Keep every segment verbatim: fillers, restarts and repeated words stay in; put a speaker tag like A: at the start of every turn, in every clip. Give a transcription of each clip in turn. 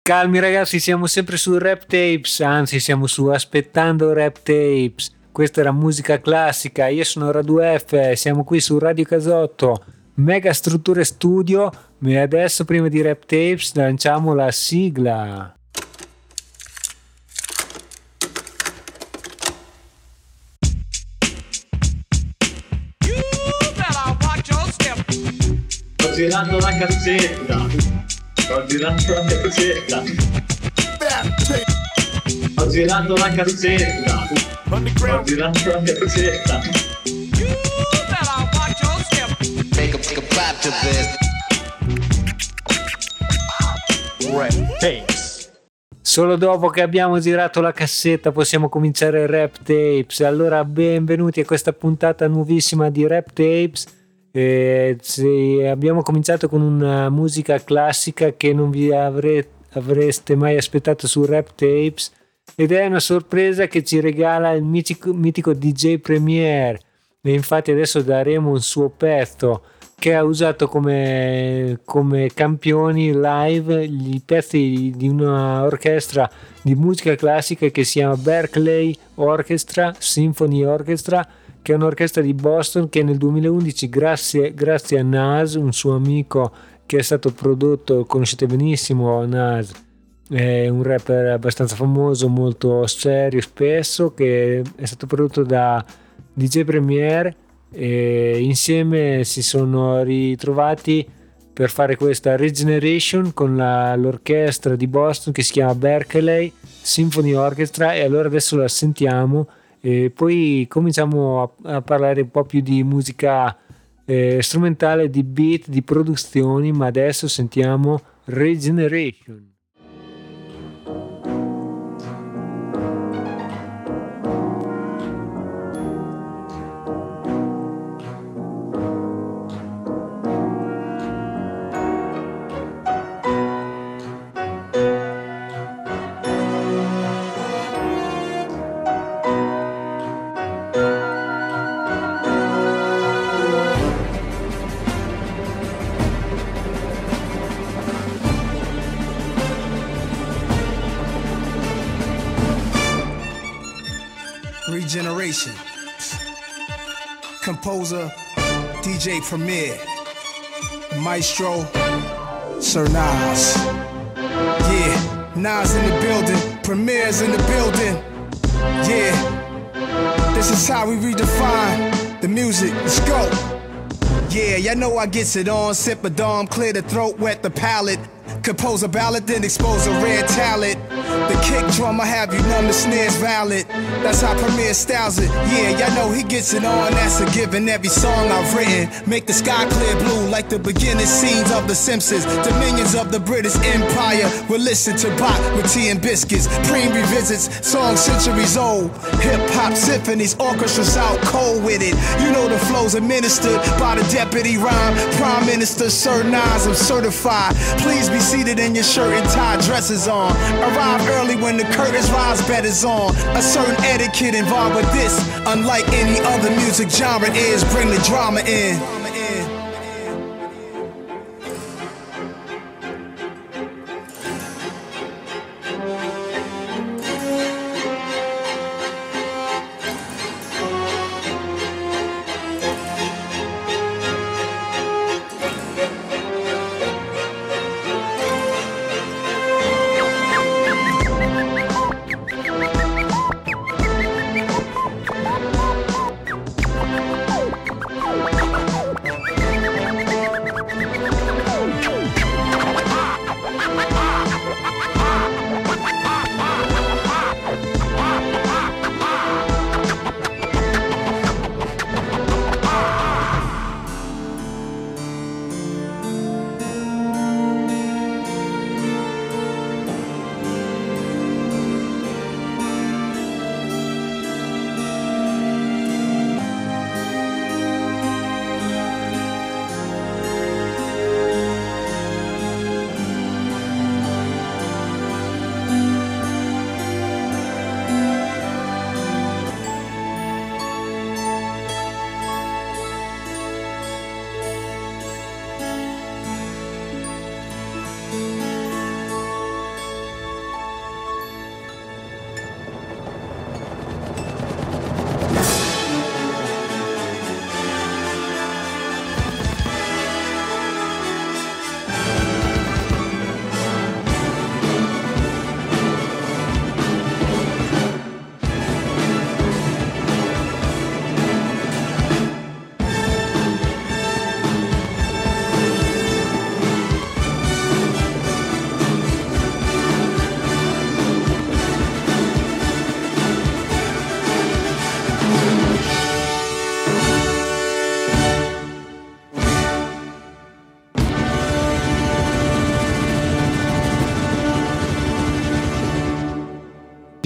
A: Calmi ragazzi, siamo sempre su Rap Tapes, anzi siamo su Aspettando Rap Tapes. Questa era musica classica, io sono Radu F, siamo qui su Radio Casotto, Mega Strutture Studio, e adesso prima di Rap Tapes lanciamo la sigla.
B: Sto girando la cassetta, sto girando la cassetta, sto girando la cassetta, sto girando la cassetta.
C: Make a, make a clap to this. Rap Tapes.
A: Solo dopo che abbiamo girato la cassetta possiamo cominciare Rap Tapes. Allora benvenuti a questa puntata nuovissima di Rap Tapes. Eh, sì, abbiamo cominciato con una musica classica che non vi avre- avreste mai aspettato su Rap Tapes, ed è una sorpresa che ci regala il mitico, mitico D J Premier, e infatti adesso daremo un suo pezzo che ha usato come, come campioni live i pezzi di una orchestra di musica classica che si chiama Berkeley Orchestra Symphony Orchestra, che è un'orchestra di Boston che nel duemilaundici, grazie, grazie a Nas, un suo amico che è stato prodotto, conoscete benissimo Nas, è un rapper abbastanza famoso, molto serio spesso, che è stato prodotto da D J Premier, e insieme si sono ritrovati per fare questa Regeneration con la, l'orchestra di Boston che si chiama Berkeley Symphony Orchestra, e allora adesso la sentiamo e poi cominciamo a, a parlare un po' più di musica eh, strumentale, di beat, di produzioni, ma adesso sentiamo Regeneration.
D: Regeneration. Composer D J Premier, Maestro Sir Nas. Yeah, Nas in the building, Premier's in the building. Yeah, this is how we redefine the music. Let's go. Yeah, y'all know I gets it on. Sip a dome, clear the throat, wet the palate. Compose a ballad, then expose a rare talent. The kick drum, I have you numb, the snare's valid. That's how Premier styles it. Yeah, y'all know he gets it on, that's a given. Every song I've written make the sky clear blue like the beginning scenes of The Simpsons. Dominions of the British Empire will listen to Bach with tea and biscuits. Preem revisits songs centuries old. Hip-hop symphonies, orchestras out cold with it. You know the flows administered by the deputy rhyme. Prime Minister Sir Nas, I'm certified. Please be seated in your shirt and tie, dresses on. Arrive early when the curtains rise, bed is on. A certain etiquette involved with this, unlike any other music genre is, bring the drama in.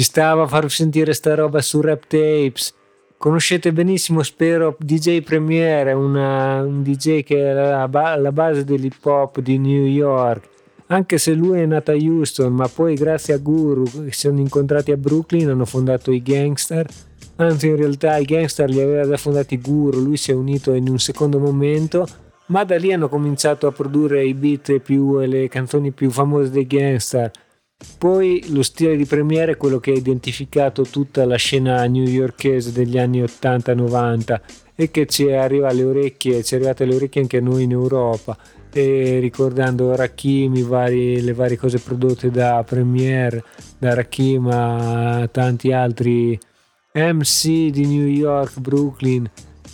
A: Ci stava a far sentire sta roba su Rap Tapes. Conoscete benissimo, spero, D J Premier, una, un D J che è la, la base dell'hip hop di New York, anche se lui è nato a Houston, ma poi grazie a Guru che si sono incontrati a Brooklyn hanno fondato i Gangster. Anzi, in realtà i Gangster li aveva già fondati Guru, lui si è unito in un secondo momento, ma da lì hanno cominciato a produrre i beat più e le canzoni più famose dei Gangster. Poi lo stile di Premier è quello che ha identificato tutta la scena newyorkese degli anni ottanta novanta e che ci arriva alle orecchie, ci è arrivata alle orecchie anche a noi in Europa. E ricordando Rakim, i vari, le varie cose prodotte da Premier, da Rakim a tanti altri M C di New York, Brooklyn,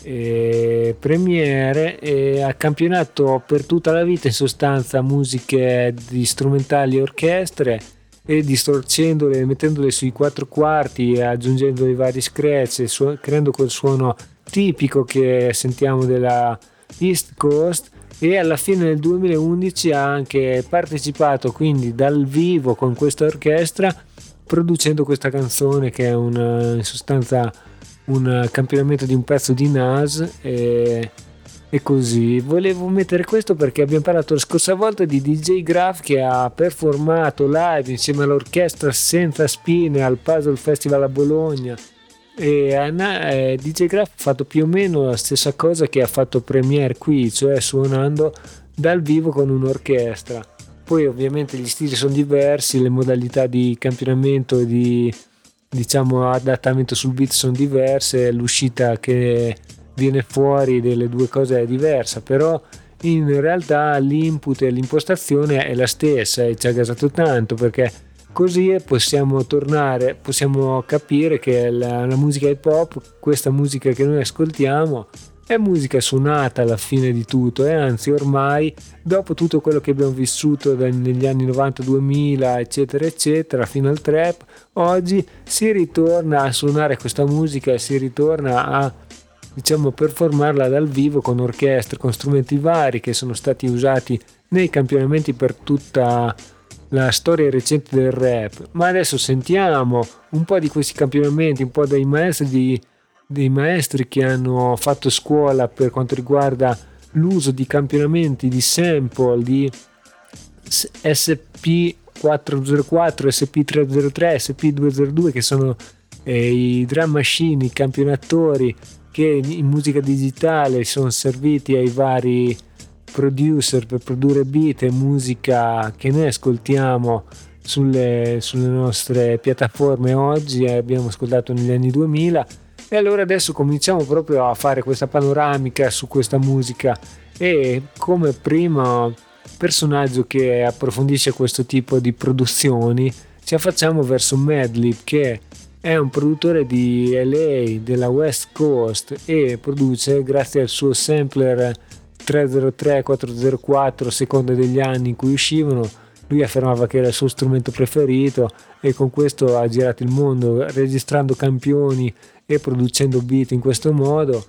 A: e Premier, e ha campionato per tutta la vita in sostanza musiche di strumentali e orchestre, e distorcendole, mettendole sui quattro quarti e aggiungendo i vari scratch, su- creando quel suono tipico che sentiamo della East Coast. E alla fine del duemilaundici ha anche partecipato quindi dal vivo con questa orchestra, producendo questa canzone che è una, in sostanza un campionamento di un pezzo di Nas. E E così volevo mettere questo perché abbiamo parlato la scorsa volta di D J Graf che ha performato live insieme all'orchestra senza spine al Puzzle Festival a Bologna, e eh, D J Graf ha fatto più o meno la stessa cosa che ha fatto Premier qui, cioè suonando dal vivo con un'orchestra. Poi ovviamente gli stili sono diversi, le modalità di campionamento e di, diciamo, adattamento sul beat sono diverse, l'uscita che viene fuori delle due cose è diversa, però in realtà l'input e l'impostazione è la stessa e ci ha gasato tanto, perché così possiamo tornare, possiamo capire che la, la musica hip hop, questa musica che noi ascoltiamo, è musica suonata alla fine di tutto, e anzi ormai dopo tutto quello che abbiamo vissuto negli anni novanta duemila eccetera eccetera fino al trap, oggi si ritorna a suonare questa musica e si ritorna a, diciamo, performarla dal vivo con orchestre, con strumenti vari che sono stati usati nei campionamenti per tutta la storia recente del rap. Ma adesso sentiamo un po' di questi campionamenti, un po' dei maestri, di, dei maestri che hanno fatto scuola per quanto riguarda l'uso di campionamenti, di sample, di S P quattrocentoquattro, S P trecentotrentasei, S P duecentodue, che sono eh, i drum machine, i campionatori che in musica digitale sono serviti ai vari producer per produrre beat e musica che noi ascoltiamo sulle, sulle nostre piattaforme oggi e abbiamo ascoltato negli anni duemila. E allora adesso cominciamo proprio a fare questa panoramica su questa musica, e come primo personaggio che approfondisce questo tipo di produzioni ci affacciamo verso Madlib, che è un produttore di L A, della West Coast, e produce grazie al suo sampler trecentotre quattrocentoquattro, a seconda degli anni in cui uscivano. Lui affermava che era il suo strumento preferito e con questo ha girato il mondo registrando campioni e producendo beat in questo modo.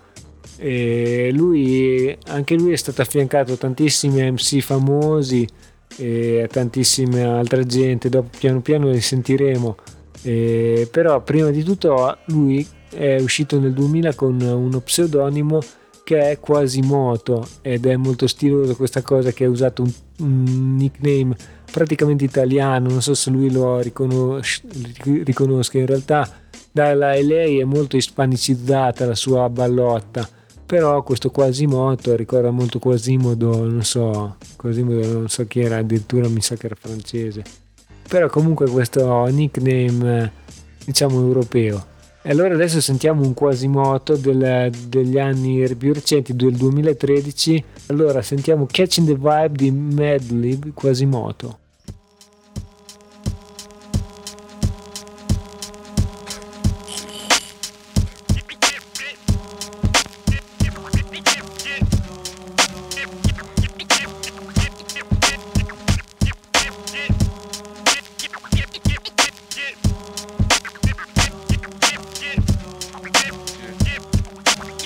A: E lui, anche lui è stato affiancato a tantissimi M C famosi e a tantissima altra gente, dopo piano piano li sentiremo. Eh, però prima di tutto lui è uscito nel duemila con uno pseudonimo che è Quasimoto, ed è molto stiloso questa cosa che ha usato un, un nickname praticamente italiano. Non so se lui lo riconos- riconosca, in realtà dalla L A è molto ispanicizzata la sua ballotta, però questo Quasimoto ricorda molto Quasimodo, non so, Quasimodo non so chi era, addirittura mi sa che era francese, però comunque questo nickname diciamo europeo. E allora adesso sentiamo un Quasimoto del, degli anni più recenti, del duemilatredici. Allora sentiamo Catching the Vibe di Madlib, Quasimoto.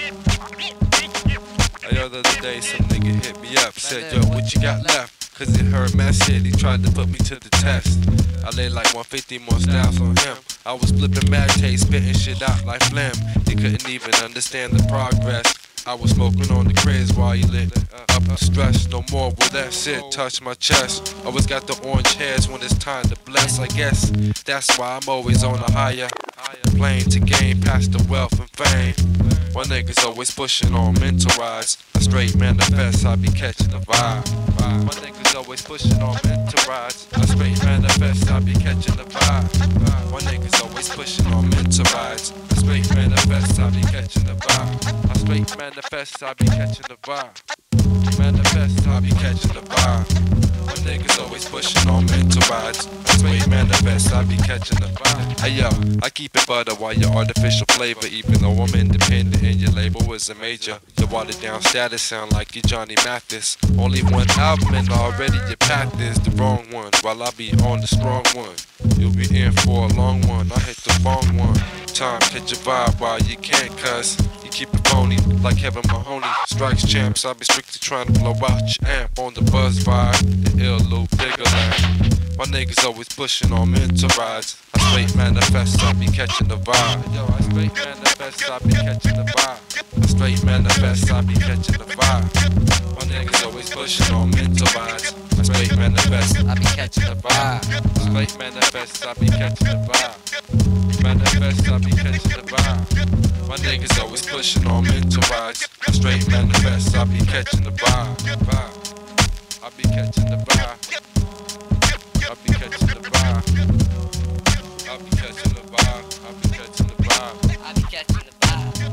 E: The other day some nigga hit me up, said yo, what you got left? Cause it heard Matt said he tried to put me to the test. I laid like one fifty more styles on him. I was flipping mad tape, spitting shit out like phlegm. He couldn't even understand the progress. I was smoking on the cribs while he lit up the stress. No more will that shit touch my chest. Always got the orange hairs when it's time to bless. I guess that's why I'm always on a higher plane to gain past the wealth and fame. My niggas always pushing on mental rides. I straight manifest, I be catching the vibe. My niggas always pushing on mental rides. I straight manifest, I be catching the vibe. My niggas always pushing on mental rides. I straight manifest, I be catching the vibe. I straight manifest, I be catching the vibe. Manifest, I be catching the vibe. My niggas always pushing on mental rides. I straight manifest, I be catching the vibe. Hey yo, I keep it butter while your artificial flavor. Even though I'm independent and your label is a major. Your watered down status sound like you Johnny Mathis. Only one album and already your path is the wrong one. While I be on the strong one, you'll be in for a long one. I hit the wrong one. Time, catch your vibe while you can, cuz you keep it phony like Kevin Mahoney. Strikes champs, I be strictly trying to blow out your amp on the buzz vibe. The ill loop, bigger land. My niggas always pushing on mental rides. I straight manifest, I be catching the vibe. Yo, I straight manifest, I be catching the vibe. I straight manifest, I be catching the vibe. My niggas always pushing on mental rides. I straight manifest, I be catching the vibe. Straight manifest, I be catching the vibe. Manifest, I be catching the vibe. My niggas always pushing on mental rides. I straight manifest, I be catching the vibe. I be catching the vibe. I be catching the vibe. I be catching the vibe. I be catching the vibe.
F: I be catching the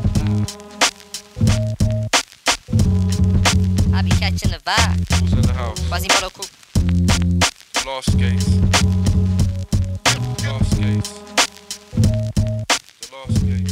F: vibe. I be catching the vibe.
E: Who's in the house?
F: Quasimodo crew.
E: Lost case. Lost case. The lost case.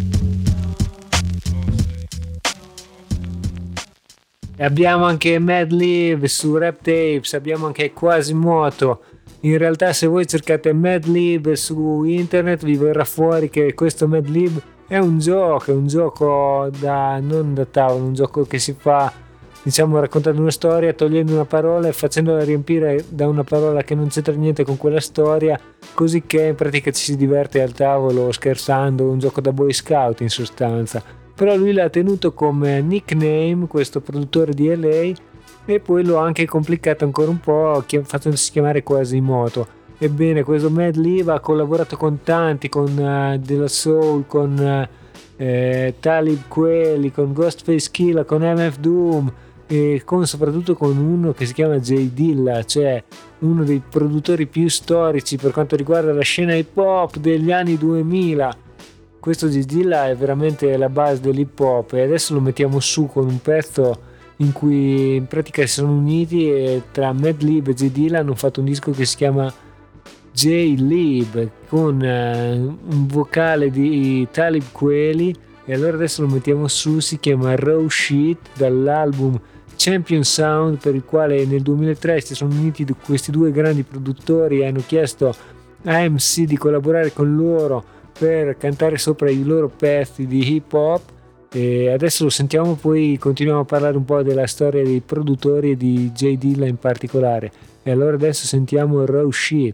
A: E abbiamo anche Mad Lib su Rap Tapes, abbiamo anche Quasimodo. In realtà se voi cercate Mad Lib su internet vi verrà fuori che questo Mad Lib è un gioco, è un gioco da non da tavolo, un gioco che si fa, diciamo, raccontando una storia, togliendo una parola e facendola riempire da una parola che non c'entra niente con quella storia, così che in pratica ci si diverte al tavolo scherzando, un gioco da Boy Scout in sostanza. Però lui l'ha tenuto come nickname, questo produttore di L A, e poi lo ha anche complicato ancora un po', facendosi chiamare Quasimodo. Ebbene, questo Mad Lib ha collaborato con tanti, con uh, De La Soul, con uh, eh, Talib Kweli, con Ghostface Killah, con M F Doom e con, soprattutto con uno che si chiama J Dilla, cioè uno dei produttori più storici per quanto riguarda la scena hip hop degli anni duemila. Questo J Dilla è veramente la base dell'hip hop e adesso lo mettiamo su con un pezzo in cui in pratica si sono uniti e tra Mad Lib e J Dilla hanno fatto un disco che si chiama J-Lib con uh, un vocale di Talib Kweli, e allora adesso lo mettiamo su, si chiama Raw Shit dall'album Champion Sound, per il quale nel duemilatré si sono uniti questi due grandi produttori e hanno chiesto a M C di collaborare con loro per cantare sopra i loro pezzi di hip hop. E adesso lo sentiamo, poi continuiamo a parlare un po' della storia dei produttori e di J Dilla in particolare. E allora adesso sentiamo Raw Shit.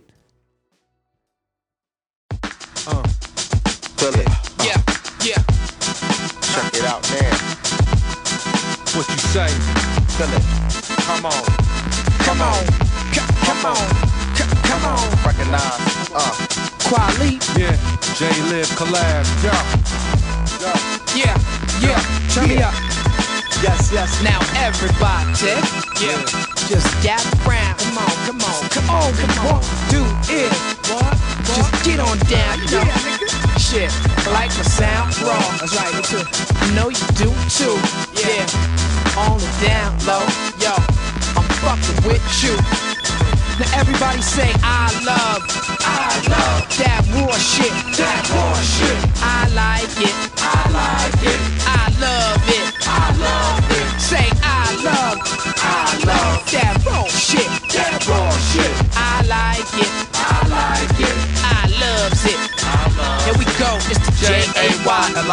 G: Uh, feel it. Uh, yeah, yeah. Check it out, man. What you say? Feel it. Come on. Come on. Come on. Come on. Recognize. Uh. Quali. Yeah. J-Lib collab. Yeah. Yeah. Yeah. Turn me up. Yes, yes. Now everybody. Yeah. Just gather round. Come on, come on, come on, come on. Do it. What? Just get on down, you know. Shit, I like my sound raw. That's right, me too. I know you do too. Yeah. On the down low, yo. I'm fucking with you. Now everybody say I love, I love that war shit, that war shit. I like it, I like it. I love it, I love it. Say I love, I love that raw shit, that raw shit. I like it, I like it. I loves it. I love Here we go, it's the J A Y L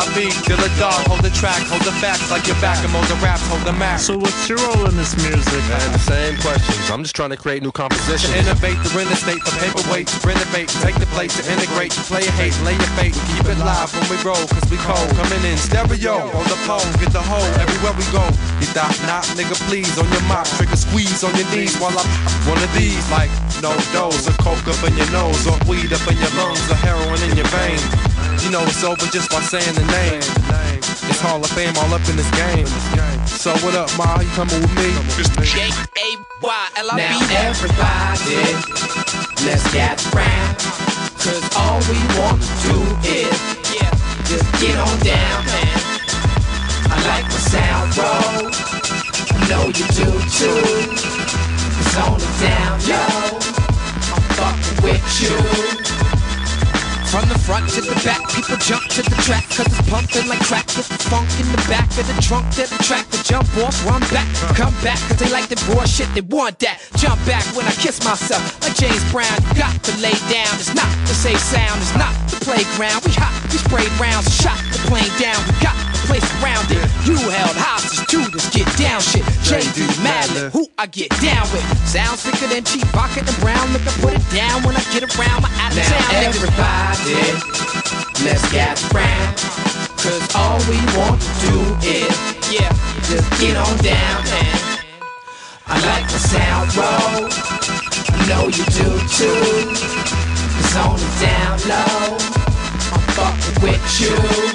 G: I be, till the dog, hold the track, hold the facts like your back, and mold the raps, hold the map.
H: So what's your role in this music?
E: Man, the same questions. I'm just trying to create new compositions.
G: To innovate, the renovate, the paperweight, renovate, take the plate to integrate, play your hate, lay your fate, keep it live when we roll, cause we cold. Coming in stereo, on the pole, get the hole, everywhere we go. You thought not, nigga, please, on your mop, trigger squeeze on your knees while I one of these, like no dose, or coke up in your nose, or weed up in your lungs, or heroin in your veins. You know it's over just by saying the name. It's Hall of Fame all up in this game. So what up, Ma? You coming with me?
I: J A Y L I B. Now everybody, let's gather round, cause all we want to do is yeah, just get on down, man. I like my sound roll, I know you do too. It's on the down low, I'm fucking with you. From the front to the back, people jump to the track, cause it's pumping like crack. Get the funk in the back of the trunk, they're the track to jump off, run back, come back, cause they like the raw shit, they want that. Jump back when I kiss myself, like James Brown, you got to lay down. It's not the safe sound, it's not the playground. We hot, we sprayed rounds, shot the plane down, we got the place around it. You held hostage to this get down shit. J D Madlib, who I get down with. Sounds thicker than cheap pocket and brown, look I put it down when I get around my out of town. Now everybody, let's gather round, cause all we want to do is, yeah, just get on down, man. I like the sound roll, I know you do too. It's on the down low, I'm fucking with you.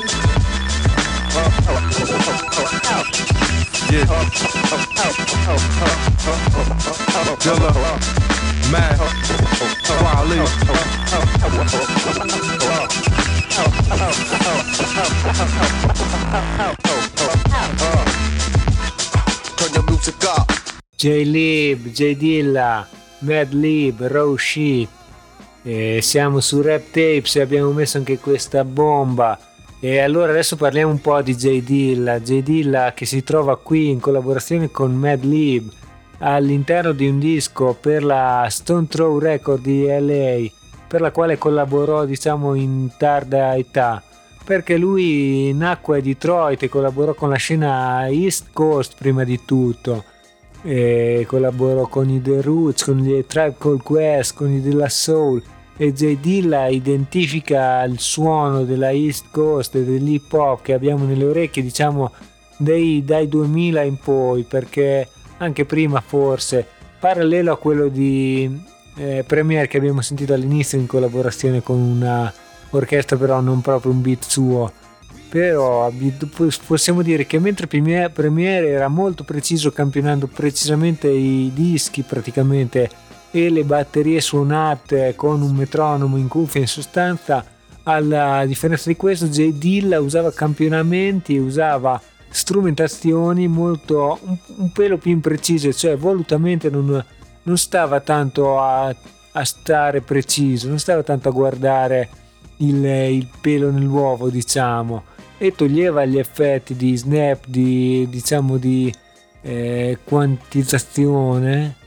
E: Yeah. Dilla, Mac, Wally.
G: Turn your music up.
A: J-Lib, J Dilla, Madlib, Raw Shit. E siamo su Rap Tapes e abbiamo messo anche questa bomba. E allora adesso parliamo un po' di J Dilla. J Dilla che si trova qui in collaborazione con Madlib all'interno di un disco per la Stone Throw Record di L A, per la quale collaborò diciamo in tarda età, perché lui nacque a Detroit e collaborò con la scena East Coast prima di tutto. E collaborò con i The Roots, con gli Tribe Called Quest, con i della Soul, e J Dilla identifica il suono della East Coast e dell'hip hop che abbiamo nelle orecchie diciamo dei, dai duemila in poi, perché anche prima forse parallelo a quello di eh, Premier che abbiamo sentito all'inizio in collaborazione con una orchestra, però non proprio un beat suo. Però possiamo dire che mentre Premier era molto preciso, campionando precisamente i dischi praticamente e le batterie suonate con un metronomo in cuffia, in sostanza, alla differenza di questo J Dilla usava campionamenti, usava strumentazioni molto un, un pelo più imprecise, cioè volutamente non, non stava tanto a, a stare preciso, non stava tanto a guardare il, il pelo nell'uovo diciamo, e toglieva gli effetti di snap, di diciamo di eh, quantizzazione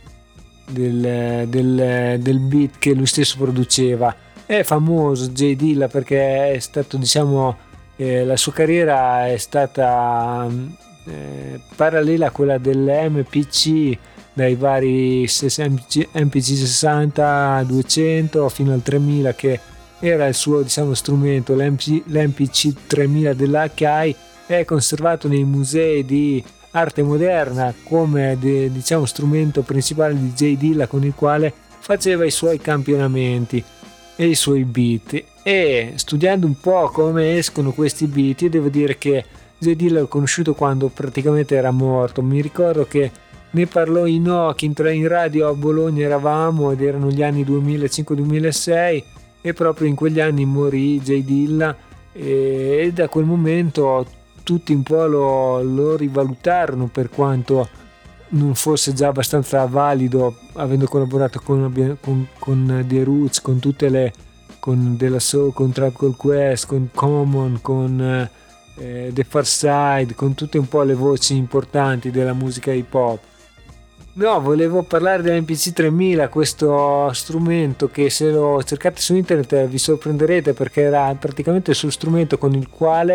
A: del, del, del beat che lui stesso produceva. È famoso J Dilla perché è stato diciamo eh, la sua carriera è stata eh, parallela a quella dell'M P C, dai vari M P C sessanta, duecento fino al tremila, che era il suo diciamo strumento. L'M P C tremila dell'H I è conservato nei musei di arte moderna come de, diciamo strumento principale di J Dilla, con il quale faceva i suoi campionamenti e i suoi beat. E studiando un po' come escono questi beat, io devo dire che J Dilla l'ho conosciuto quando praticamente era morto. Mi ricordo che ne parlò Inoki in, in radio a Bologna, eravamo ed erano gli anni duemilacinque duemilasei, e proprio in quegli anni morì J Dilla, e, e da quel momento tutti un po' lo, lo rivalutarono, per quanto non fosse già abbastanza valido, avendo collaborato con, con, con The Roots, con tutte le con della Soul, con Tribe Called Quest, con Common, con eh, The Far Side, con tutte un po' le voci importanti della musica hip hop. No, volevo parlare dell'M P C tremila, questo strumento che se lo cercate su internet vi sorprenderete, perché era praticamente il suo strumento con il quale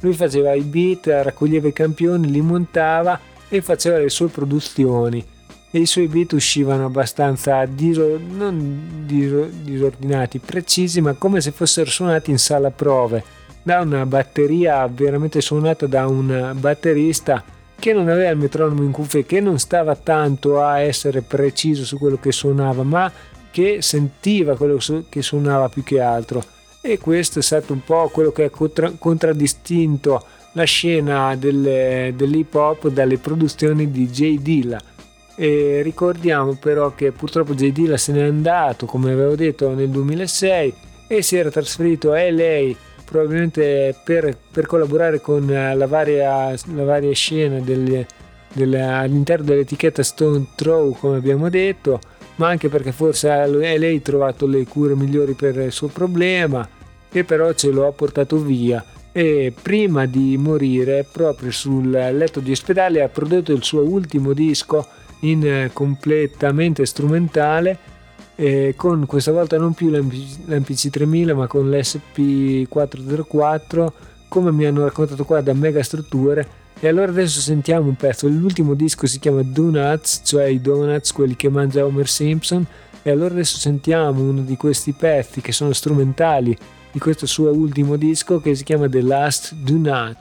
A: lui faceva i beat, raccoglieva i campioni, li montava e faceva le sue produzioni, e i suoi beat uscivano abbastanza diso- non diso- disordinati, precisi, ma come se fossero suonati in sala prove, da una batteria veramente suonata da un batterista che non aveva il metronomo in cuffie, che non stava tanto a essere preciso su quello che suonava, ma che sentiva quello che suonava più che altro. E questo è stato un po' quello che ha contra- contraddistinto la scena del, dell'hip hop dalle produzioni di J Dilla. E ricordiamo però che purtroppo J Dilla se n'è andato, come avevo detto, nel duemilasei, e si era trasferito a L A, probabilmente per, per collaborare con la varia, la varia scena del, del, all'interno dell'etichetta Stone Throw, come abbiamo detto, ma anche perché forse a L A ha trovato le cure migliori per il suo problema, e però ce lo ha portato via, e prima di morire proprio sul letto di ospedale ha prodotto il suo ultimo disco in completamente strumentale, eh, con questa volta non più l'M P C tremila ma con l'S P quattrocentoquattro, come mi hanno raccontato qua da Mega Strutture. E allora adesso sentiamo un pezzo. L'ultimo disco si chiama Donuts, cioè i donuts, quelli che mangia Homer Simpson, e allora adesso sentiamo uno di questi pezzi che sono strumentali di questo suo ultimo disco, che si chiama The Last Donut.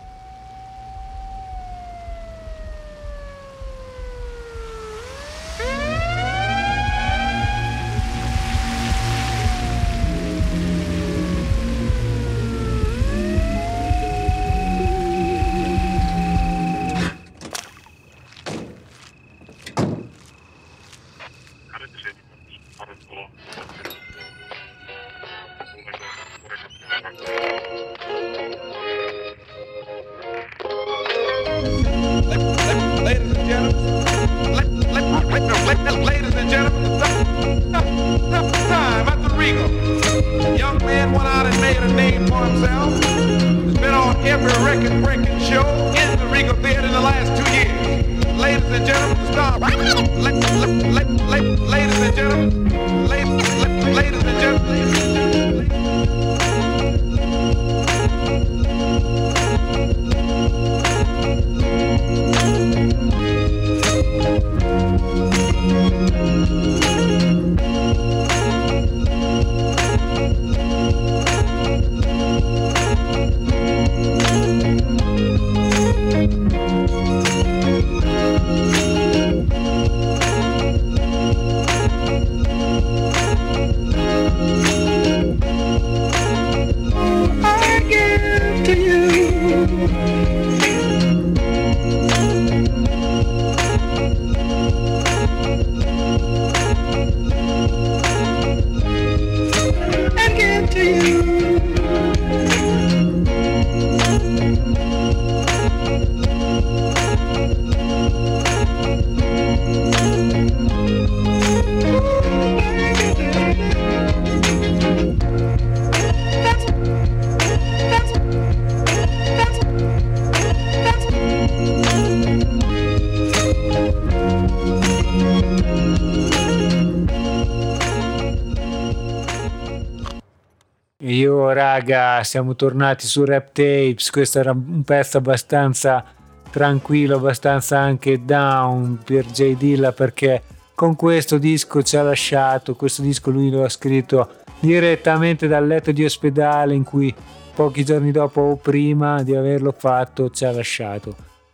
A: Io raga, siamo tornati su Rap Tapes. Questo era un pezzo abbastanza tranquillo, abbastanza anche down per J Dilla, perché con questo disco ci ha lasciato. Questo disco lui lo ha scritto direttamente dal letto di ospedale, in cui pochi giorni dopo o prima di averlo fatto ci ha lasciato.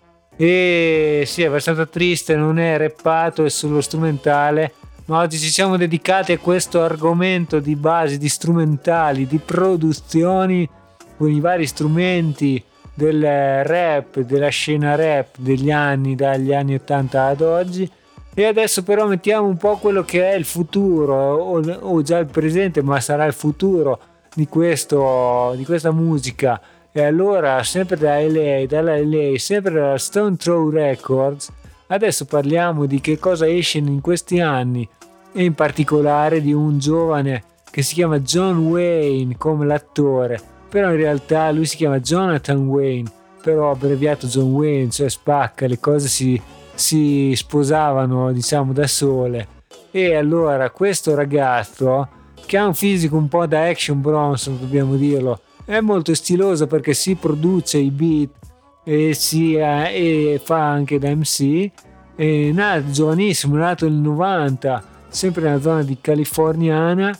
A: E sì, è abbastanza triste, non è rappato, è solo strumentale. Ma oggi ci siamo dedicati a questo argomento di base, di strumentali, di produzioni con i vari strumenti del rap, della scena rap degli anni, dagli anni ottanta ad oggi. E adesso però mettiamo un po' quello che è il futuro, o, o già il presente, ma sarà il futuro di, questo, di questa musica. E allora, sempre da L A, dalla L A, sempre dalla Stone Throw Records, adesso parliamo di che cosa esce in questi anni, e in particolare di un giovane che si chiama John Wayne come l'attore, però in realtà lui si chiama Jonathan Wayne, però abbreviato John Wayne, cioè spacca, le cose si, si sposavano diciamo da sole. E allora questo ragazzo, che ha un fisico un po' da Action Bronson, dobbiamo dirlo, è molto stilosa perché si produce i beat e, si, e fa anche da M C. È nato giovanissimo, è nato nel novanta, sempre nella zona di californiana,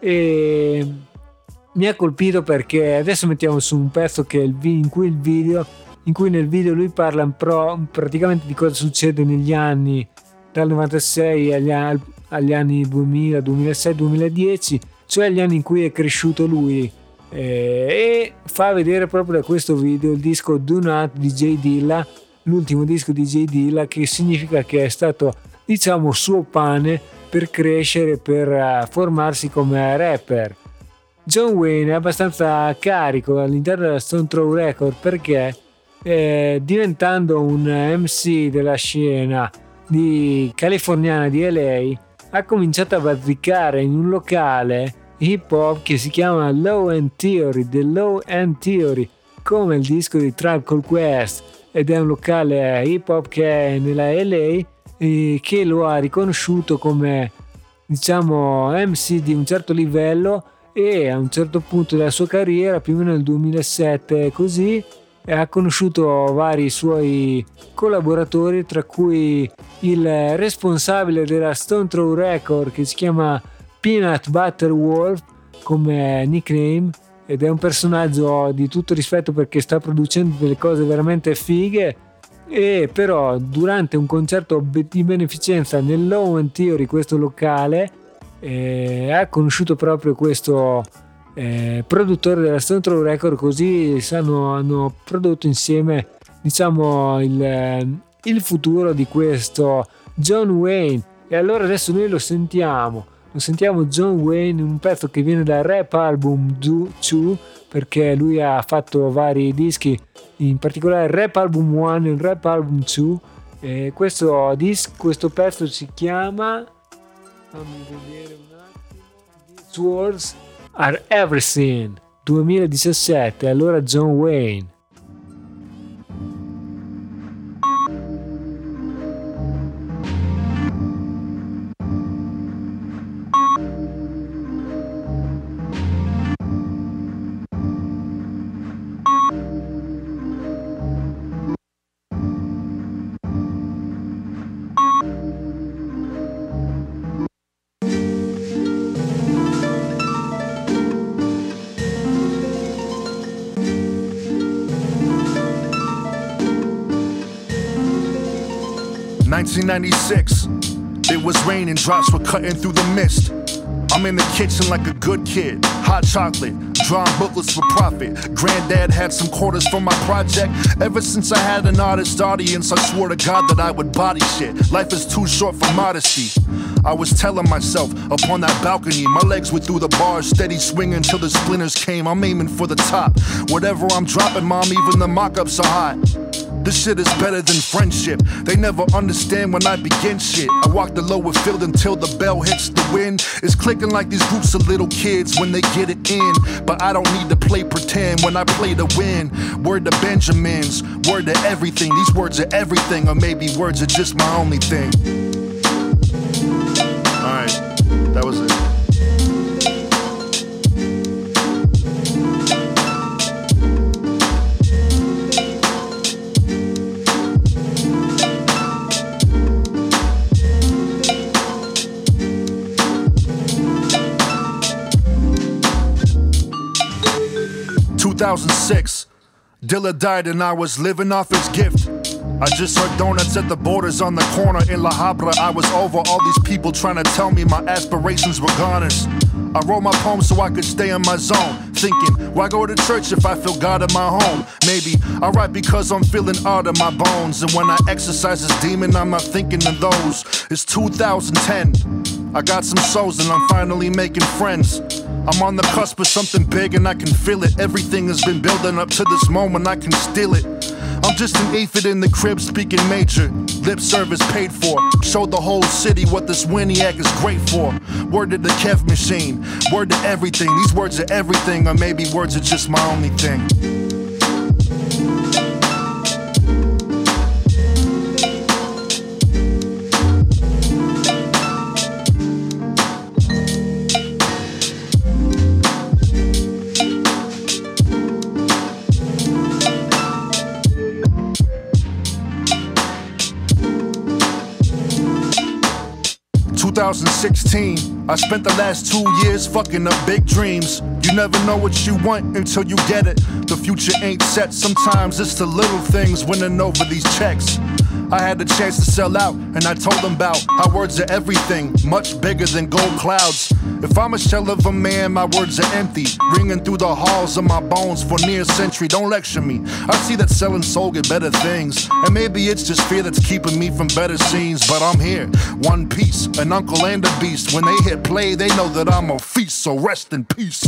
A: e mi ha colpito perché adesso mettiamo su un pezzo che è il vi- in cui il video in cui nel video lui parla pro, praticamente di cosa succede negli anni dal novantasei agli, agli anni duemila, duemilasei, duemiladieci, cioè gli anni in cui è cresciuto lui, eh, e fa vedere proprio da questo video il disco Do Not di J Dilla, l'ultimo disco di J Dilla, che significa che è stato, diciamo, suo pane per crescere, per uh, formarsi come rapper. John Wayne è abbastanza carico all'interno della Stone Throw Record perché eh, diventando un M C della scena di californiana di L A ha cominciato a bazzicare in un locale hip hop che si chiama Low End Theory, The Low End Theory, come il disco di Tribe Called Quest, ed è un locale hip hop che è nella L A e che lo ha riconosciuto come, diciamo, M C di un certo livello, e a un certo punto della sua carriera, più o meno nel duemilasette così, ha conosciuto vari suoi collaboratori, tra cui il responsabile della Stone Throw Record che si chiama Peanut Butter Wolf come nickname, ed è un personaggio di tutto rispetto perché sta producendo delle cose veramente fighe. E però durante un concerto di beneficenza nel Low End Theory, questo locale, eh, ha conosciuto proprio questo eh, produttore della Stone Throw Record, così sanno, hanno prodotto insieme, diciamo, il, il futuro di questo John Wayne. E allora adesso noi lo sentiamo lo sentiamo John Wayne in un pezzo che viene dal Rap Album due, perché lui ha fatto vari dischi, in particolare il Rap Album uno e il Rap Album due, e questo, disc, questo pezzo si chiama, fammi vedere un attimo, These Words Are Everything, duemiladiciassette. Allora John Wayne.
J: nineteen ninety-six, it was raining, drops were cutting through the mist. I'm in the kitchen like a good kid, hot chocolate, drawing booklets for profit. Granddad had some quarters for my project. Ever since I had an artist audience, I swore to God that I would body shit. Life is too short for modesty. I was telling myself upon that balcony, my legs were through the bars, steady swinging till the splinters came. I'm aiming for the top. Whatever I'm dropping, mom, even the mock-ups are hot. This shit is better than friendship. They never understand when I begin shit. I walk the lower field until the bell hits the wind. It's clicking like these groups of little kids when they get it in. But I don't need to play pretend when I play to win. Word to Benjamins, word to everything. These words are everything, or maybe words are just my only thing. Alright, that was it. two thousand six, Dilla died and I was living off his gift. I just heard donuts at the Borders on the corner in La Habra. I was over all these people trying to tell me my aspirations were goners. I wrote my poem so I could stay in my zone, thinking, why go to church if I feel God in my home? Maybe I write because I'm feeling art in my bones, and when I exercise this demon, I'm not thinking of those. It's two thousand ten, I got some souls and I'm finally making friends. I'm on the cusp of something big and I can feel it. Everything has been building up to this moment, I can steal it. I'm just an aphid in the crib speaking major. Lip service paid for. Showed the whole city what this Winiac is great for. Word to the Kev machine. Word to everything. These words are everything, or maybe words are just my only thing. sixteen, I spent the last two years fucking up big dreams. You never know what you want until you get it. The future ain't set, sometimes it's the little things winning over these checks. I had the chance to sell out, and I told them about how words are everything, much bigger than gold clouds. If I'm a shell of a man, my words are empty, ringing through the halls of my bones for near a century. Don't lecture me. I see that selling soul get better things, and maybe it's just fear that's keeping me from better scenes. But I'm here, one piece, an uncle and a beast. When they hit play, they know that I'm a feast, so rest in peace.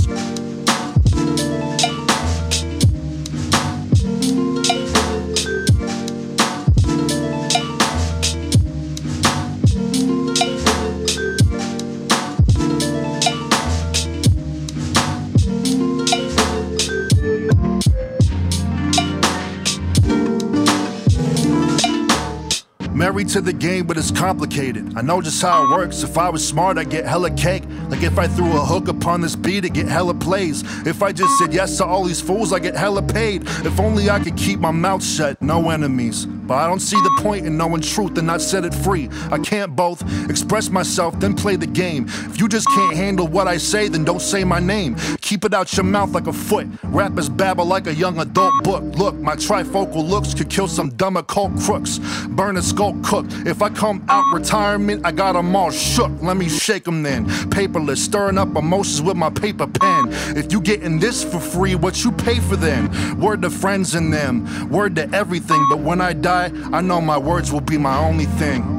J: Married to the game, but it's complicated. I know just how it works. If I was smart, I'd get hella cake. Like if I threw a hook upon this beat, I'd get hella plays. If I just said yes to all these fools, I get hella paid. If only I could keep my mouth shut, no enemies. But I don't see the point in knowing truth and not set it free. I can't both express myself, then play the game. If you just can't handle what I say, then don't say my name. Keep it out your mouth like a foot. Rappers babble like a young adult book. Look, my trifocal looks could kill some dumb occult crooks. Burn a skull cook. If I come out retirement, I got them all shook. Let me shake them then. Paperless, stirring up emotions with my paper pen. If you getting this for free, what you pay for then? Word to friends and them, word to everything. But when I die, I know my words will be my only thing.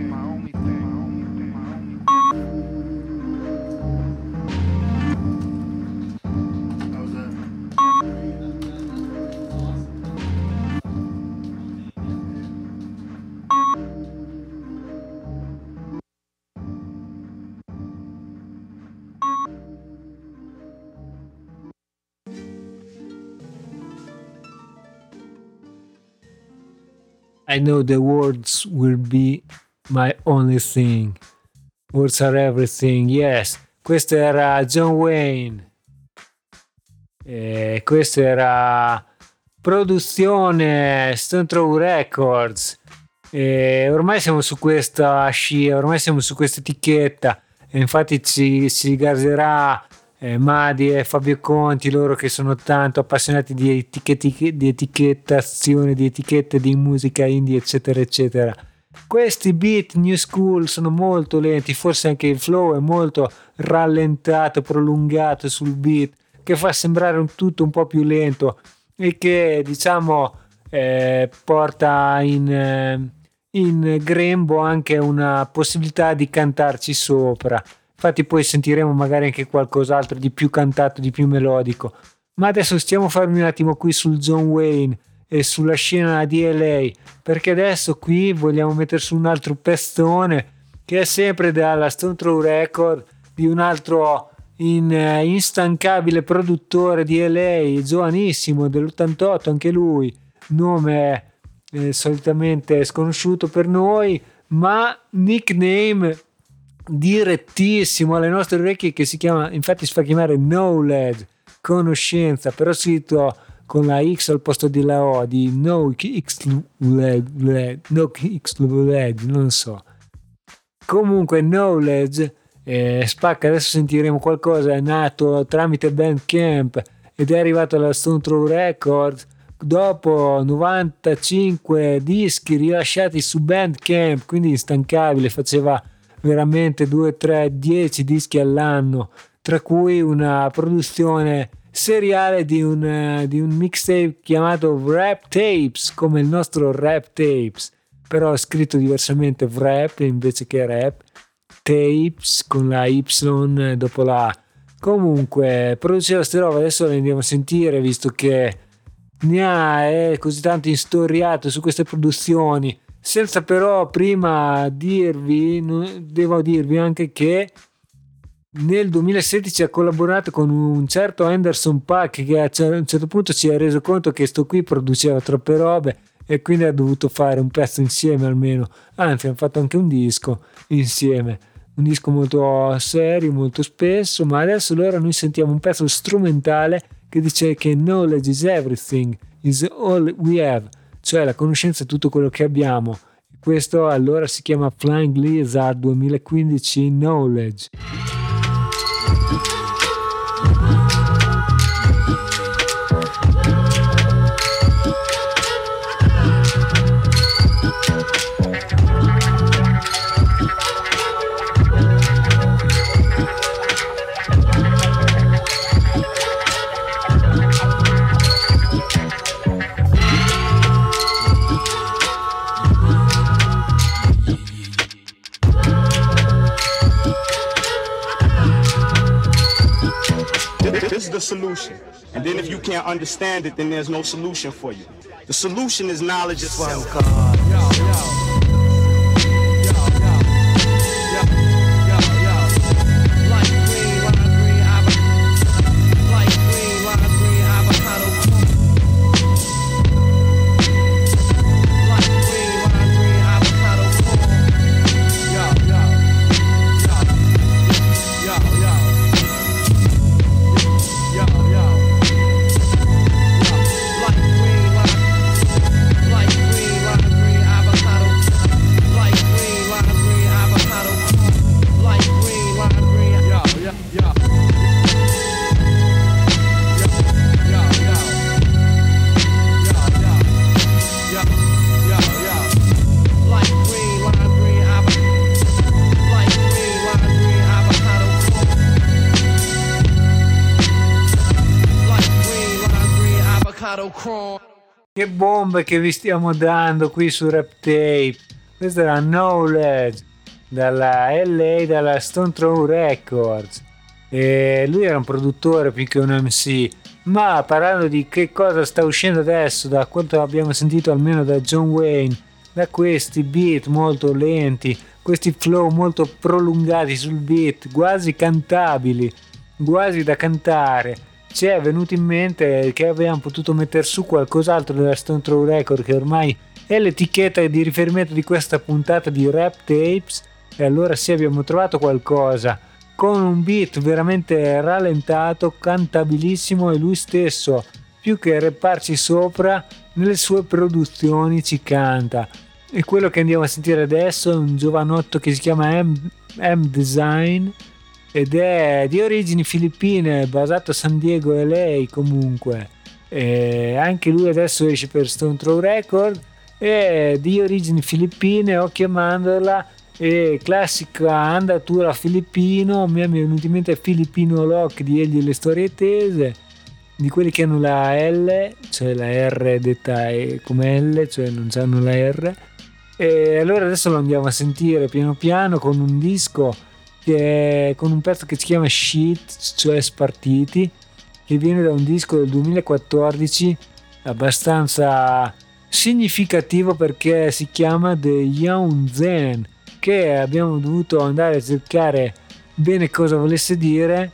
A: I know the words will be my only thing. Words are everything. Yes, questo era John Wayne. E questo era produzione Stone Throw Records. E ormai siamo su questa scia, ormai siamo su questa etichetta. E infatti ci, si gaserà eh, Madi e Fabio Conti, loro che sono tanto appassionati di, etichetti, di etichettazione, di etichette di musica indie, eccetera, eccetera. Questi beat new school sono molto lenti, forse anche il flow è molto rallentato, prolungato sul beat, che fa sembrare un tutto un po' più lento e che, diciamo, eh, porta in, eh, in grembo anche una possibilità di cantarci sopra. Infatti poi sentiremo magari anche qualcos'altro di più cantato, di più melodico. Ma adesso stiamo a farmi un attimo qui sul John Wayne e sulla scena di L A, perché adesso qui vogliamo mettere su un altro pestone che è sempre dalla Stone Throw Record, di un altro in, uh, instancabile produttore di L A, giovanissimo, dell'ottantotto anche lui, nome eh, solitamente sconosciuto per noi, ma nickname direttissimo alle nostre orecchie, che si chiama, infatti si fa chiamare Knowledge, conoscenza, però scritto con la X al posto della O, di No X No X non so. Comunque Knowledge eh, spacca. Adesso sentiremo qualcosa. È nato tramite Bandcamp ed è arrivato alla Stone Throw Records dopo novantacinque dischi rilasciati su Bandcamp, quindi instancabile. Faceva veramente due, tre, dieci dischi all'anno, tra cui una produzione seriale di un, di un mixtape chiamato Rap Tapes, come il nostro Rap Tapes, però scritto diversamente Rap invece che Rap Tapes con la Y dopo la A. Comunque produceva ste robe, adesso le andiamo a sentire, visto che ne ha è così tanto istoriato su queste produzioni, senza però prima dirvi, devo dirvi anche che nel duemilasedici ha collaborato con un certo Anderson .Paak, che a un certo punto si è reso conto che sto qui produceva troppe robe e quindi ha dovuto fare un pezzo insieme almeno, anzi hanno fatto anche un disco insieme, un disco molto serio, molto spesso. Ma adesso allora noi sentiamo un pezzo strumentale che dice che knowledge is everything, is all we have, cioè la conoscenza è tutto quello che abbiamo. Questo allora si chiama Flying Lizard duemilaquindici Knowledge.
K: This is the solution. And then if you can't understand it, then there's no solution for you. The solution is knowledge itself. Che bombe che vi stiamo dando qui su Rap Tape. Questa era Knowledge dalla L A, dalla Stone Throw Records, e lui era un produttore più che un M C. Ma parlando di che cosa sta uscendo adesso, da quanto abbiamo sentito almeno da John Wayne, da questi beat molto lenti, questi flow molto prolungati sul beat, quasi cantabili, quasi da cantare, ci è venuto in mente che abbiamo potuto mettere su qualcos'altro della Stone Throw Record, che ormai è l'etichetta di riferimento di questa puntata di Rap Tapes, e allora sì, abbiamo trovato qualcosa con un beat veramente rallentato, cantabilissimo, e lui stesso, più che rapparci sopra, nelle sue produzioni ci canta. E quello che andiamo a sentire adesso è un giovanotto che si chiama M, M Design, ed è di origini filippine, basato a San Diego, L A comunque. E anche lui adesso esce per Stone Throw Record, è di origini filippine, occhio a mandorla, e classica andatura filippino. Mi è venuto in mente Filippino Lock di Egli e le storie tese, di quelli che hanno la L, cioè la R detta come L, cioè non hanno la R. E allora adesso lo andiamo a sentire piano piano con un disco che è, con un pezzo che si chiama Shit, cioè Spartiti, che viene da un disco del duemilaquattordici abbastanza significativo, perché si chiama The Young Zen, che abbiamo dovuto andare a cercare bene cosa volesse dire.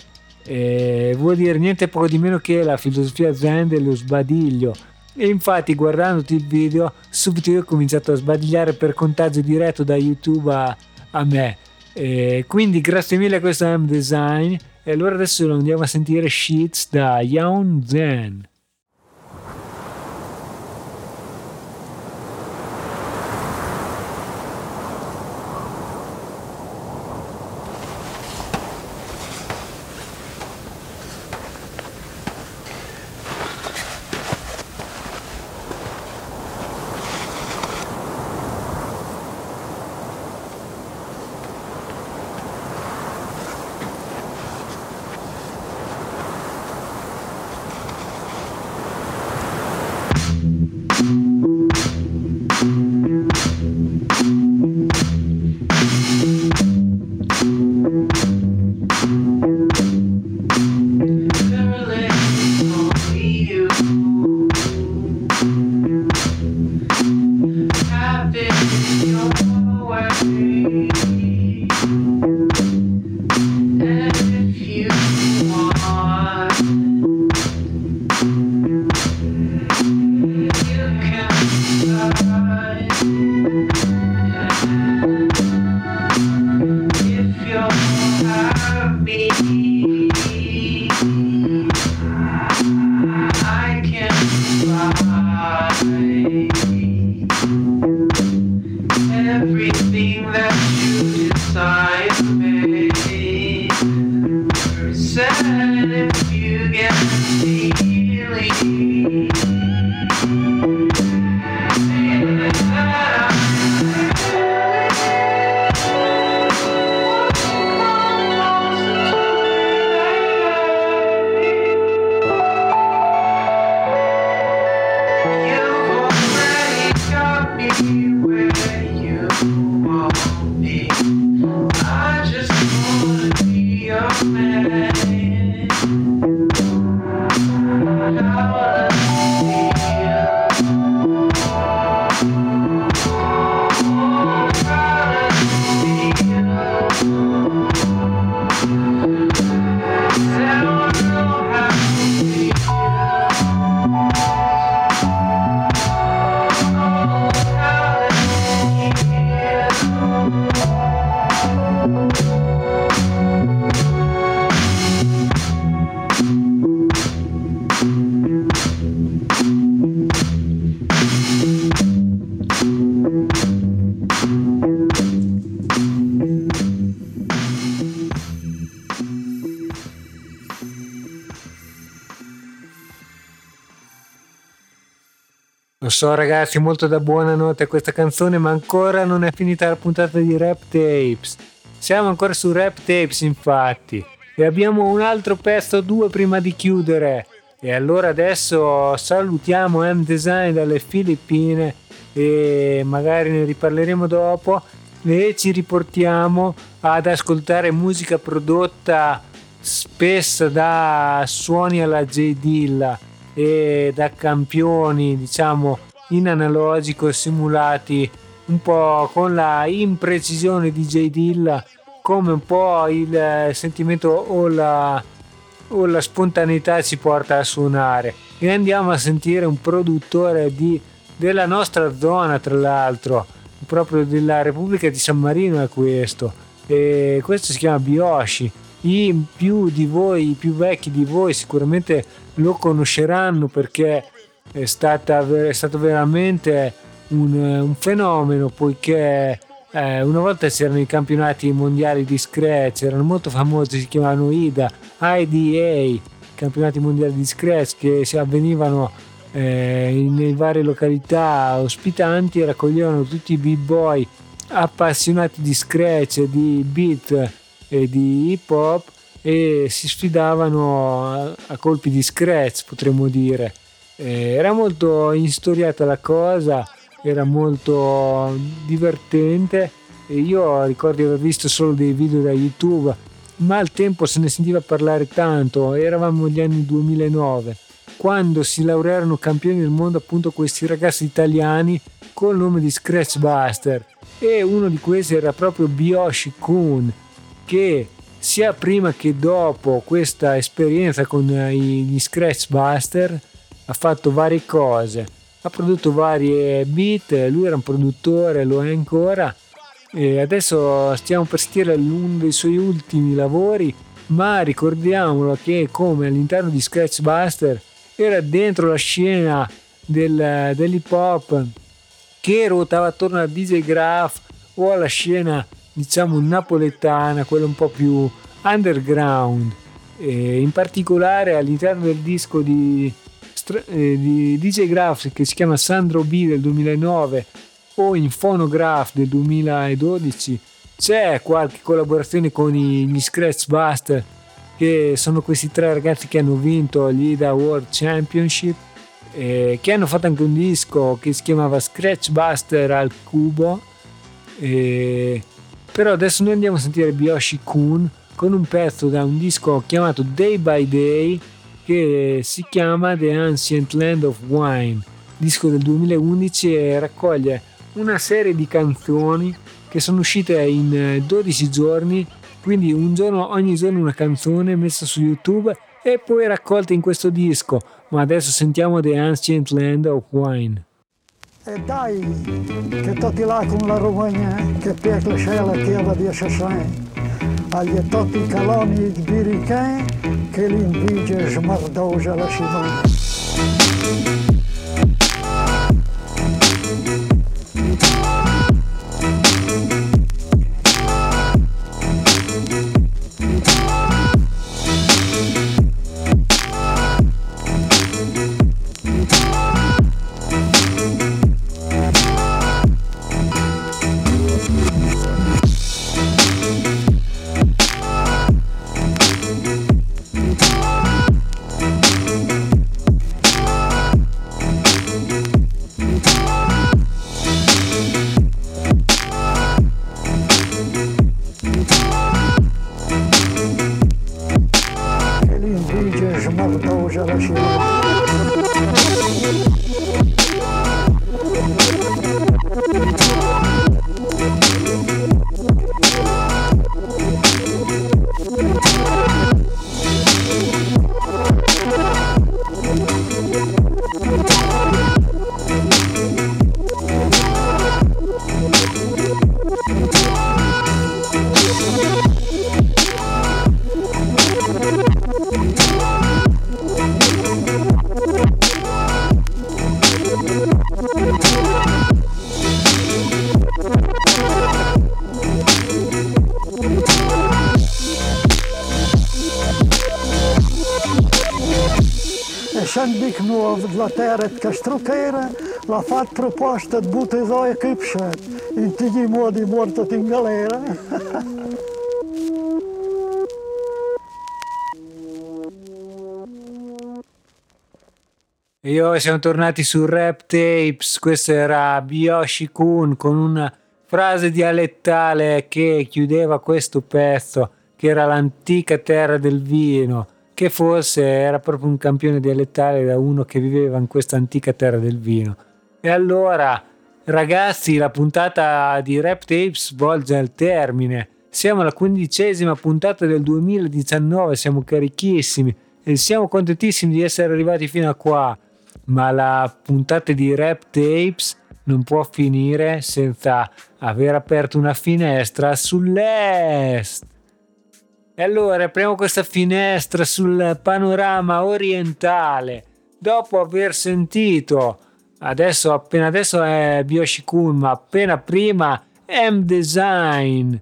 K: E vuol dire niente poco di meno che la filosofia zen dello sbadiglio. E infatti, guardandoti il video, subito io ho cominciato a sbadigliare per contagio diretto da YouTube a, a me. E quindi grazie mille a questo M Design, e allora adesso lo andiamo a sentire Sheets da Young Zen. Lo so ragazzi, molto da buonanotte a questa canzone, ma ancora non è finita la puntata di Rap Tapes. Siamo ancora su Rap Tapes infatti, e abbiamo un altro pezzo, due prima di chiudere. E allora adesso salutiamo M Design dalle Filippine e magari ne riparleremo dopo, e ci riportiamo ad ascoltare musica prodotta spesso da suoni alla J Dilla e da campioni, diciamo, in analogico, simulati un po' con la imprecisione di J Dilla, come un po' il sentimento o la, o la spontaneità ci porta a suonare. E andiamo a sentire un produttore di, della nostra zona, tra l'altro proprio della Repubblica di San Marino è questo, e questo si chiama Bioshi. I più di voi, i più vecchi di voi sicuramente lo conosceranno perché è, stata, è stato veramente un, un fenomeno, poiché eh, una volta c'erano i campionati mondiali di scratch, erano molto famosi, si chiamavano I D A, I D A, campionati mondiali di scratch, che si avvenivano eh, nelle varie località ospitanti e raccoglievano tutti i b-boy appassionati di scratch, di beat e di hip hop, e si sfidavano a, a colpi di scratch, potremmo dire. Eh, era molto instoriata la cosa, era molto divertente, e io ricordo di aver visto solo dei video da YouTube, ma al tempo se ne sentiva parlare tanto. Eravamo gli anni duemilanove, quando si laurearono campioni del mondo appunto questi ragazzi italiani col nome di Scratch Buster, e uno di questi era proprio Bioshi Kun, che sia prima che dopo questa esperienza con gli Scratch Buster ha fatto varie cose, ha prodotto varie beat, lui era un produttore, lo è ancora, e adesso stiamo per sentire uno dei suoi ultimi lavori, ma ricordiamolo che come all'interno di Scratch Buster era dentro la scena del, dell'hip hop che ruotava attorno a D J Graf o alla scena, diciamo, napoletana, quella un po' più underground, e in particolare all'interno del disco di, di D J Graf, che si chiama Sandro B del duemilanove, o in Phonograph del duemiladodici, c'è qualche collaborazione con gli Scratch Buster, che sono questi tre ragazzi che hanno vinto gli I D A World Championship, eh, che hanno fatto anche un disco che si chiamava Scratch Buster al cubo. E però adesso noi andiamo a sentire Bioshi Kun con un pezzo da un disco chiamato Day by Day, che si chiama The Ancient Land of Wine, disco del duemilaundici, e raccoglie una serie di canzoni che sono uscite in dodici giorni, quindi un giorno, ogni giorno una canzone messa su YouTube e poi raccolta in questo disco. Ma adesso sentiamo The Ancient Land of Wine.
L: E dai, che tutti là con la Romagna, che per la scella chiava di Assassin, agli tutti i caloni di birichè, che l'invidia smardosa la Simone. cosa da Dic nu la terra che strucchera, l'ha fatto proposta di buttare e kipset, in tutti i modi morto in galera.
K: Io siamo tornati su Rap Tapes, questo era Byoshi-kun con una frase dialettale che chiudeva questo pezzo, che era l'antica terra del vino, che forse era proprio un campione dialettale da uno che viveva in questa antica terra del vino. E allora, ragazzi, la puntata di Rap Tapes volge al termine. Siamo alla quindicesima puntata del duemiladiciannove, siamo carichissimi e siamo contentissimi di essere arrivati fino a qua. Ma la puntata di Rap Tapes non può finire senza aver aperto una finestra sull'est. E allora apriamo questa finestra sul panorama orientale. Dopo aver sentito, adesso appena adesso è Byoshi-kun, ma appena prima M-Design,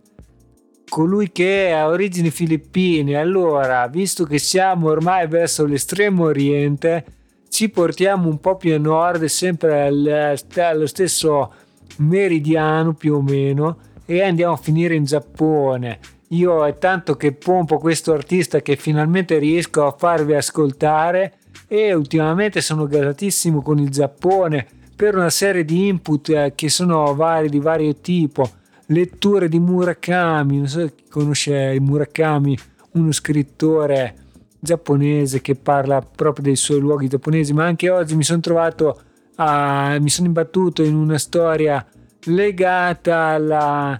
K: colui che ha origini filippine. Allora, visto che siamo ormai verso l'estremo oriente, ci portiamo un po' più a nord, sempre allo stesso meridiano più o meno, e andiamo a finire in Giappone. Io è tanto che pompo questo artista che finalmente riesco a farvi ascoltare, e ultimamente sono gasatissimo con il Giappone per una serie di input che sono vari, di vario tipo. Letture di Murakami, non so chi conosce Murakami, uno scrittore giapponese che parla proprio dei suoi luoghi giapponesi, ma anche oggi mi sono trovato a, mi sono imbattuto in una storia legata alla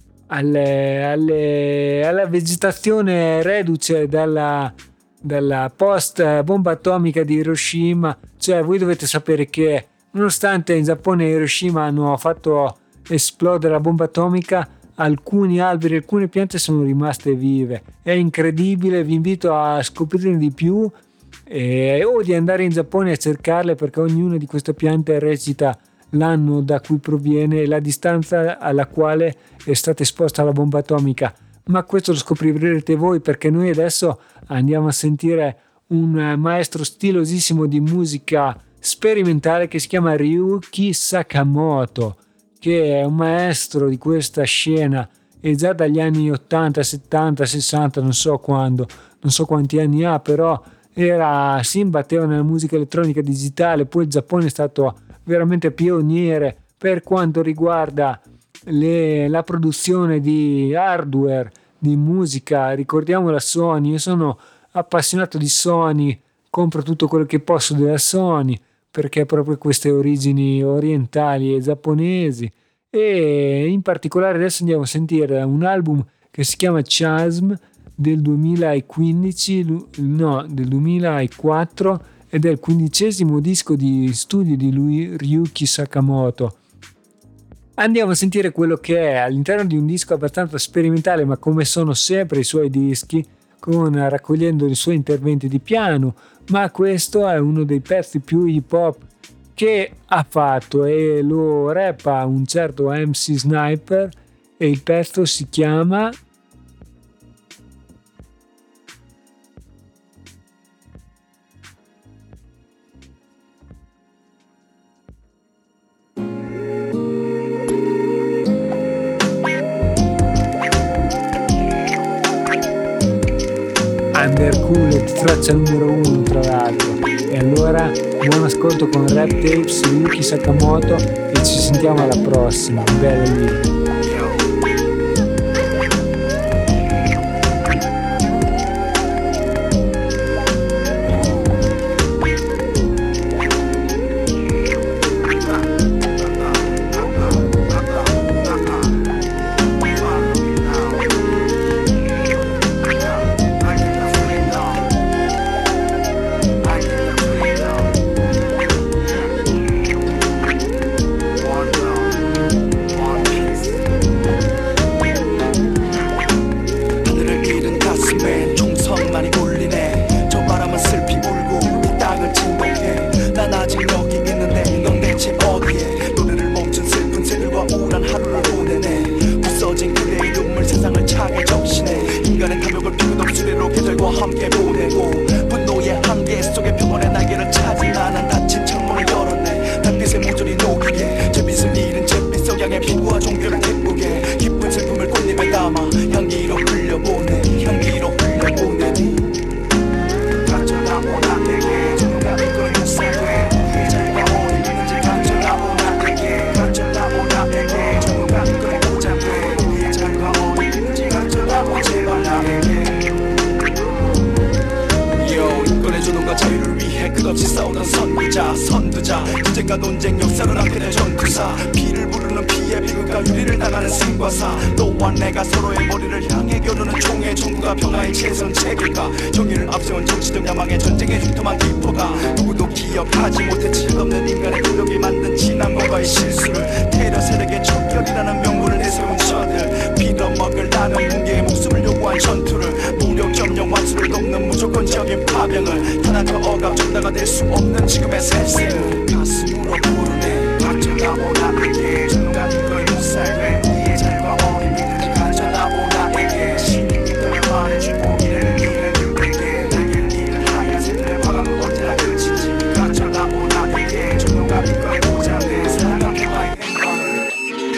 K: Alle, alle, alla vegetazione reduce dalla, dalla post bomba atomica di Hiroshima. Cioè, voi dovete sapere che nonostante in Giappone e Hiroshima hanno fatto esplodere la bomba atomica, alcuni alberi, alcune piante sono rimaste vive. È incredibile, vi invito a scoprirne di più eh, o di andare in Giappone a cercarle, perché ognuna di queste piante recita l'anno da cui proviene e la distanza alla quale è stata esposta la bomba atomica. Ma questo lo scoprirete voi, perché noi adesso andiamo a sentire un maestro stilosissimo di musica sperimentale che si chiama Ryuki Sakamoto, che è un maestro di questa scena e già dagli anni ottanta, settanta, sessanta, non so quando, non so quanti anni ha, però era, si imbatteva nella musica elettronica digitale. Poi il Giappone è stato veramente pioniere per quanto riguarda le, la produzione di hardware, di musica. Ricordiamo la Sony, io sono appassionato di Sony, compro tutto quello che posso della Sony, perché ha proprio queste origini orientali e giapponesi. E in particolare adesso andiamo a sentire un album che si chiama Chasm del duemilaquindici, no, del duemilaquattro, ed è il quindicesimo disco di studio di lui, Ryuki Sakamoto. Andiamo a sentire quello che è all'interno di un disco abbastanza sperimentale, ma come sono sempre i suoi dischi, con raccogliendo i suoi interventi di piano, ma questo è uno dei pezzi più hip hop che ha fatto, e lo rappa un certo M C Sniper, e il pezzo si chiama Undercooled, traccia numero uno tra l'altro. E allora buon ascolto con Rap Tapes, Ryuki Sakamoto, e ci sentiamo alla prossima. Bella lì.
M: 너와 함께 보내고 분노의 한계 속에 평온의 날개를 찾은 나는 닫힌 창문을 열었네. 달빛의 모조리 녹이게 잿빛을 잃은 잿빛 석양의 피부와 종교를 기쁘게 기쁜 슬픔을 꽃잎에 담아 향기로 흘려보내 향기로 흘려보내 가져다오 나에게 누가 이걸 못살게 잘가 오니 있는지 가져다오 나에게 가져다오 나에게 누가 이걸 보자게 잘가 오니 있는지 가져다오 제발 나에게 꺼내주는 것 자유를 위해 끝없이 싸우던 선구자 선두자 분쟁과 논쟁 역사를 앞에는 전투사 피를 부르는 피의 비극과 유리를 당하는 생과사 너와 내가 서로의 머리를 향해 겨루는 총의 총구가 평화의 최선 책일까 정의를 앞세운 정치적 야망의 전쟁의 흉터만 깊어가 누구도 기억하지 못해 질없는 인간의 노력이 만든 지난 과거의 실수를 테러 세력의 척결이라는 명분을 내세운 저들 빌어먹을 나는 붕괴의 목숨을 요구한 전투를 무력 점령 완수를 돕는 무조건적인 파병을 탄압과 억압 전다가 될 수 없는 지금의 세상 가슴으로 부르네 가져다오 나에게 누가 이걸 못살게 우리의 잘과 어린 믿음이 가져다오 나에게 신이 믿음을 말해주고 이를 이를 그에게 날개를 잃은 하얀새들의 화강은 언제나 그친지 가져다오 나에게 누가 이걸 보자네 사랑한 평화의 행방을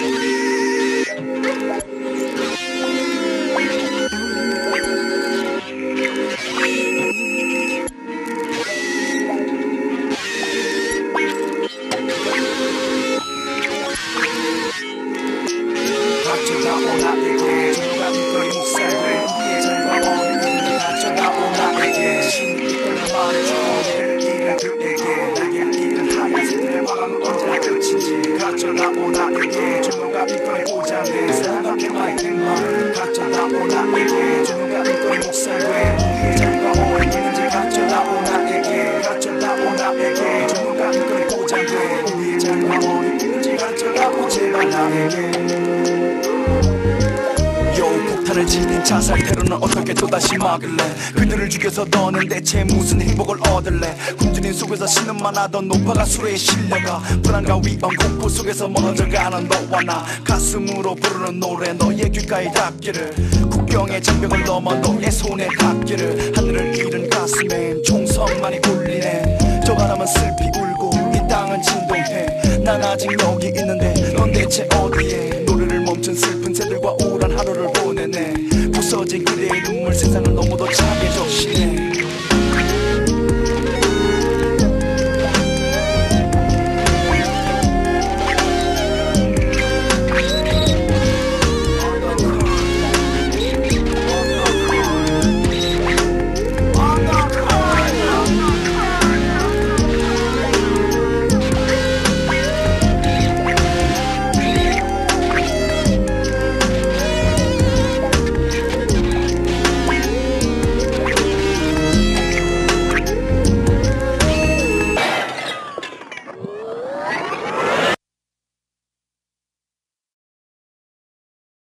M: 가져다오 나에게 누가 이걸 못살게 우리의 잘과 어린 믿음을 가져다오 나에게 신이 이끌어 말해주고 이를 잃은 그에게 날개를 잃은 하얀새들의 화강은 언제나 끝인지 가져다오 나에게 누가 이걸 보자네 사랑한 평화의 행방을 가져다오 나에게 누가 이걸 못살게 우리의 잘과 어린 믿음을 가져다오 나에게 가져다오 나에게 누가 이걸 보자네 우리의 잘과 어린 믿음을 가져다오 제발 나에게 폭탄을 지닌 자살 테러는 어떻게 또다시 막을래 그들을 죽여서 너는 대체 무슨 행복을 얻을래 굶주린 속에서 신음만 하던 노파가 수레에 실려가 불안과 위험 공포 속에서 멀어져가는 너와 나 가슴으로 부르는 노래 너의 귓가에 닿기를 국경의 장벽을 넘어 너의 손에 닿기를 하늘을 잃은 가슴엔 총성만이 울리네 저 바람은 슬피 울고 이 땅은 진동해 난 아직 여기 있는데 넌 대체 어디에 노래를 멈춘 슬픈 새들과